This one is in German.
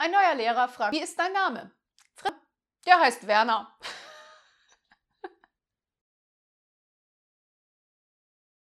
Ein neuer Lehrer fragt, wie ist dein Name? Der heißt Werner.